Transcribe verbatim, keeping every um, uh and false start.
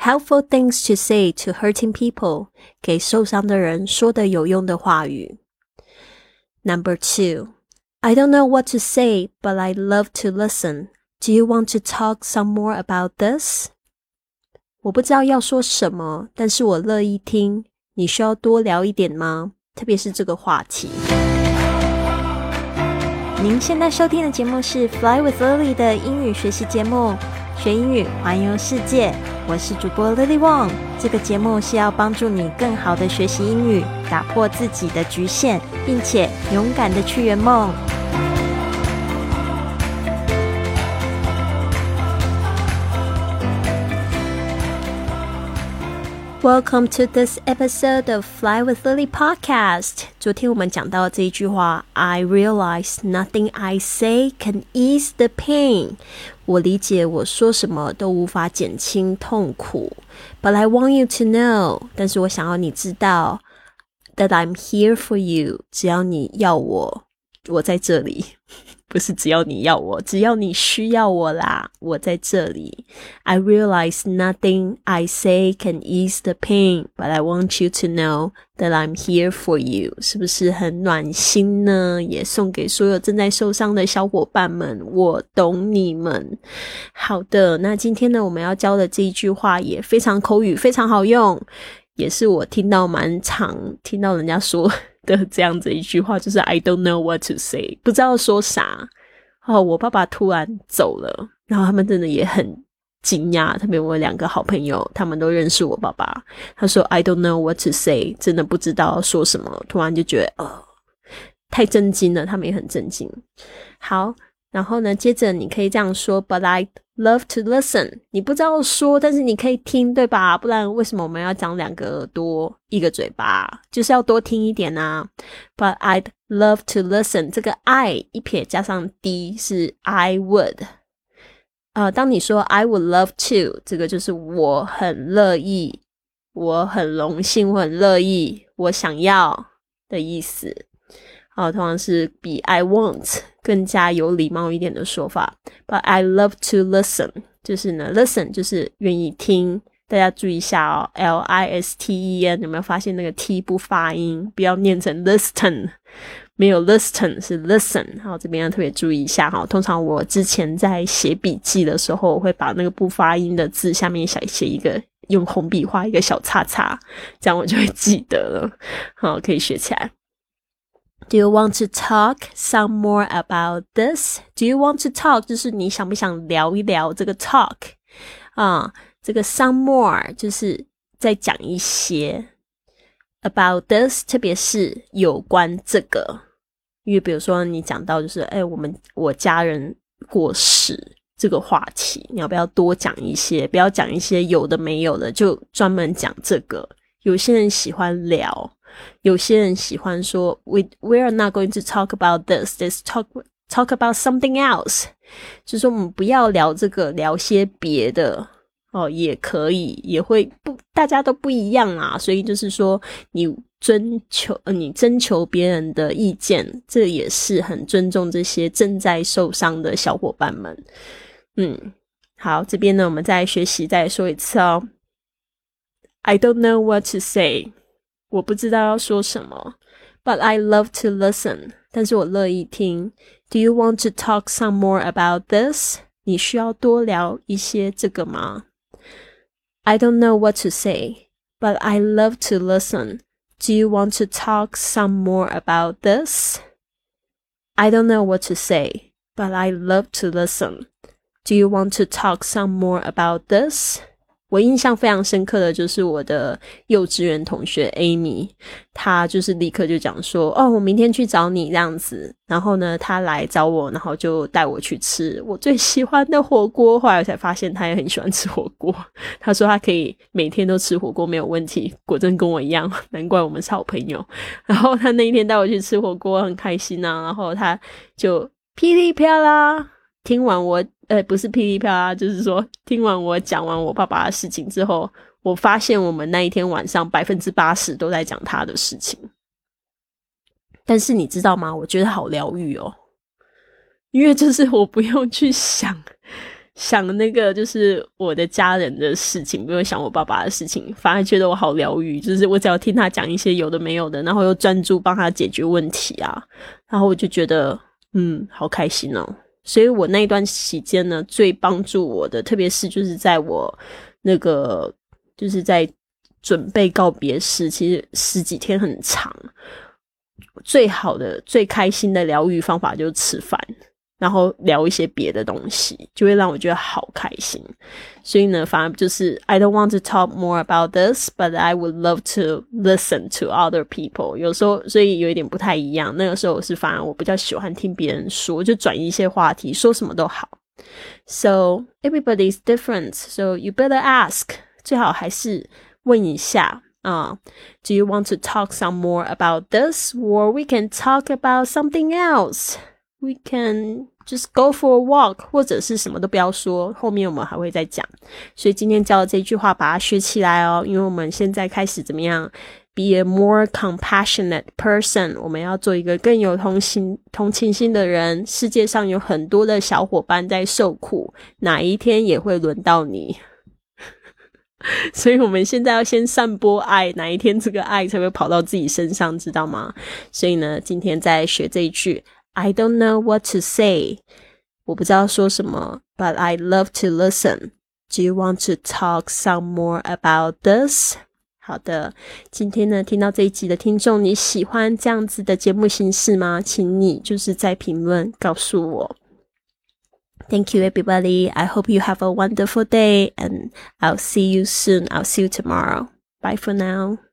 Helpful things to say to hurting people. 给受伤的人说的有用的话语。Number two, I don't know what to say, but I'd love to listen. Do you want to talk some more about this? 我不知道要说什么，但是我乐意听。你需要多聊一点吗？特别是这个话题。您现在收听的节目是 Fly with Lily 的英语学习节目，学英语环游世界。我是主播 Lily Wong， 这个节目是要帮助你更好的学习英语，打破自己的局限，并且勇敢的去圆梦。Welcome to this episode of Fly with Lily podcast. 昨天我们讲到这一句话 I realize nothing I say can ease the pain. 我理解我说什么都无法减轻痛苦 But I want you to know. 但是我想要你知道 That I'm here for you. 只要你要我，我在这里。不是只要你要我，只要你需要我啦，我在这里。I realize nothing I say can ease the pain, but I want you to know that I'm here for you. 是不是很暖心呢？也送给所有正在受伤的小伙伴们，我懂你们。好的，那今天呢，我们要教的这一句话也非常口语，非常好用，也是我听到蛮常听到人家说的这样子一句话，就是 I don't know what to say， 不知道说啥。哦，我爸爸突然走了，然后他们真的也很惊讶，特别我两个好朋友，他们都认识我爸爸。他说 I don't know what to say， 真的不知道说什么，突然就觉得呃，太震惊了，他们也很震惊。好，然后呢，接着你可以这样说 But I'd love to listen. 你不知道说，但是你可以听，对吧？不然为什么我们要讲两个耳朵一个嘴巴？就是要多听一点啊。But I'd love to listen. 这个 I 一撇加上 D 是 I would。呃，当你说 I would love to， 这个就是我很乐意，我很荣幸，我很乐意，我想要的意思。哦，通常是比 I want 更加有礼貌一点的说法。But I love to listen， 就是呢 listen 就是愿意听。大家注意一下哦 L I S T E N， 有没有发现那个 T 不发音，不要念成 listen， 没有 listen 是 listen。好，这边要特别注意一下哈。通常我之前在写笔记的时候，我会把那个不发音的字下面写一个，用红笔画一个小叉叉，这样我就会记得了。好，可以学起来。Do you want to talk some more about this? Do you want to talk? 就是你想不想聊一聊这个 talk 啊？这个 some more 就是再讲一些 about this， 特别是有关这个。因为比如说你讲到就是哎，我们我家人过世这个话题，你要不要多讲一些？不要讲一些有的没有的，就专门讲这个。有些人喜欢聊。有些人喜欢说 we, we are not going to talk about this, let's talk, talk about something else， 就是说我们不要聊这个，聊些别的哦，也可以，也会不，大家都不一样啊，所以就是说你征求、呃、你征求别人的意见，这也是很尊重这些正在受伤的小伙伴们。嗯，好，这边呢我们再学习再说一次哦。I don't know what to say，我不知道要说什么 But I love to listen 但是我乐意听 Do you want to talk some more about this 你需要多聊一些这个吗 I don't know what to say But I love to listen Do you want to talk some more about this I don't know what to say But I love to listen Do you want to talk some more about this我印象非常深刻的就是我的幼稚园同学 Amy， 她就是立刻就讲说哦我明天去找你这样子，然后呢她来找我，然后就带我去吃我最喜欢的火锅，后来我才发现她也很喜欢吃火锅，她说她可以每天都吃火锅没有问题，果真跟我一样，难怪我们是好朋友。然后她那一天带我去吃火锅很开心啊，然后她就噼里啪啦听完我呃，不是噼里啪啦，就是说听完我讲完我爸爸的事情之后，我发现我们那一天晚上 百分之八十 都在讲他的事情。但是你知道吗，我觉得好疗愈哦，因为就是我不用去想想那个就是我的家人的事情，不用想我爸爸的事情，反而觉得我好疗愈，就是我只要听他讲一些有的没有的，然后又专注帮他解决问题啊，然后我就觉得嗯好开心哦。所以我那一段期间呢，最帮助我的特别是就是在我那个就是在准备告别式，其实十几天很长，最好的最开心的疗愈方法就是吃饭，然后聊一些别的东西，就会让我觉得好开心。所以呢，反而就是 I don't want to talk more about this, but I would love to listen to other people. 有时候所以有一点不太一样，那个时候我是反而我比较喜欢听别人说，就转移一些话题，说什么都好。So everybody is different, so you better ask. 最好还是问一下Uh, do you want to talk some more about this? Or we can talk about something else. We can just go for a walk. 或者是什么都不要说，后面我们还会再讲。所以今天教的这句话把它学起来哦，因为我们现在开始怎么样 be a more compassionate person. 我们要做一个更有同情同情心的人。世界上有很多的小伙伴在受苦，哪一天也会轮到你。所以我们现在要先散播爱，哪一天这个爱才会跑到自己身上，知道吗？所以呢，今天在学这一句 I don't know what to say. 我不知道说什么 But I love to listen. Do you want to talk some more about this? 好的，今天呢，听到这一集的听众，你喜欢这样子的节目形式吗？请你就是在评论告诉我。Thank you, everybody. I hope you have a wonderful day, and I'll see you soon. I'll see you tomorrow. Bye for now.